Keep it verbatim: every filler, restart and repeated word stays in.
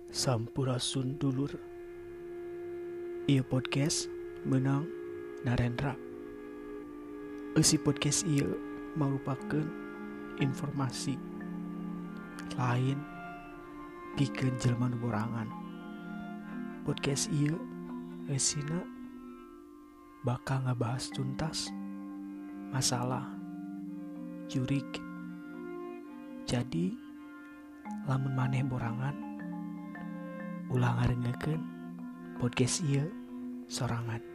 Sampurasun dulur. Ieu podcast menang Narendra. Eusi podcast ieu merupakan informasi lain pikeun jelema nu borangan. Podcast ieu eusina bakal ngabahas tuntas masalah jurig. Jadi lamun maneh borangan, ulah ngarengekeun podcast ieu sorangan.